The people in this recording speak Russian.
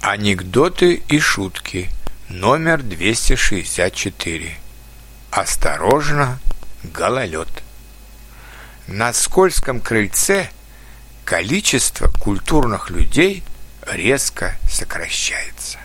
Анекдоты и шутки. Номер 264. Осторожно, гололед. На скользком крыльце количество культурных людей резко сокращается.